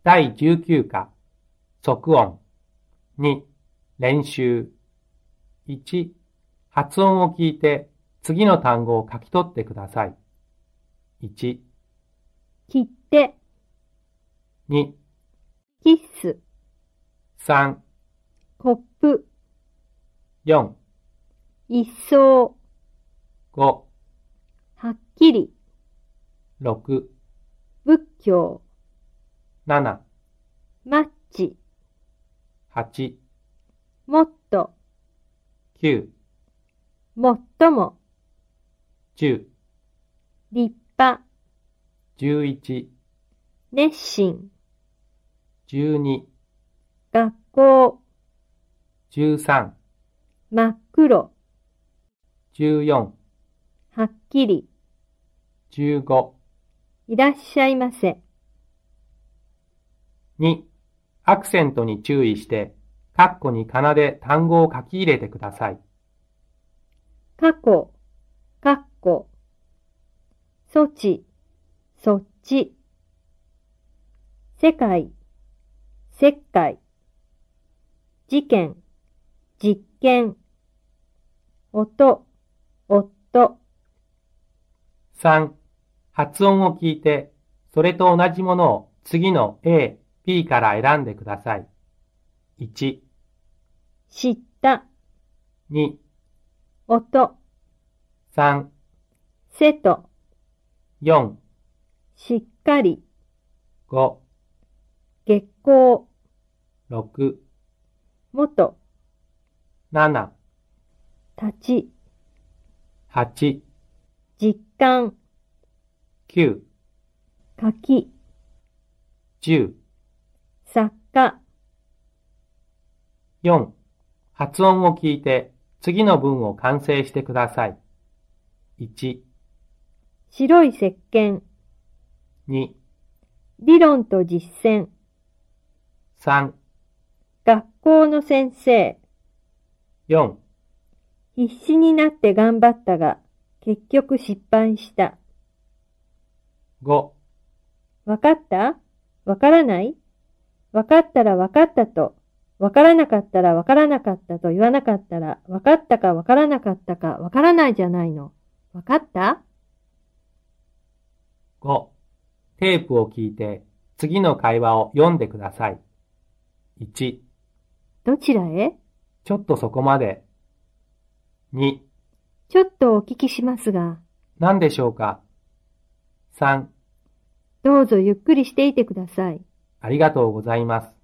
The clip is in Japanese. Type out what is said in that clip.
第19課、即音。2、練習。1、発音を聞いて次の単語を書き取ってください。1、 切手、 2、 キッス、 3、 コップ、 4、 一層、 5、 はっきり、 6、 仏教、 7、 マッチ、 8、 もっと、 9、 もっとも、 10、 立派、 11、 熱心、 12、 学校、 13、 真っ黒、 14、 はっきり、 15、 いらっしゃいませ。 2、アクセントに注意して、括弧に仮名で単語を書き入れてください。 過去、かっこ、措置、そっち、世界、石灰、事件、実験、音、夫、 3、発音を聞いて、それと同じものを次の A、B から選んでください。1、 知った、 2、 音、 3、 瀬戸、 4、 しっかり、 5、 月光、 6、 元、 7、 立ち、 8、 実感、 9、 書き、 10、 作家、 4、発音を聞いて次の文を完成してください。1、 白い石鹸、 2、 理論と実践、 3、 学校の先生、 4、 必死になって頑張ったが、結局失敗した。 5、 わかった？わからない？わかったらわかったと、わからなかったらわからなかったと言わなかったら、わかったかわからなかったかわからないじゃないの。わかった？ 5、テープを聞いて次の会話を読んでください。1、 どちらへ？ ちょっとそこまで。2、 ちょっとお聞きしますが。 何でしょうか。3、 どうぞゆっくりしていてください。 ありがとうございます。